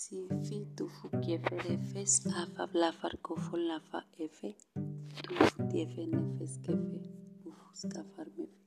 Si fi tufu kiefe refes afa blafar kofol nafa efe tufu tiefe nefes kefe ufus kafar mefe.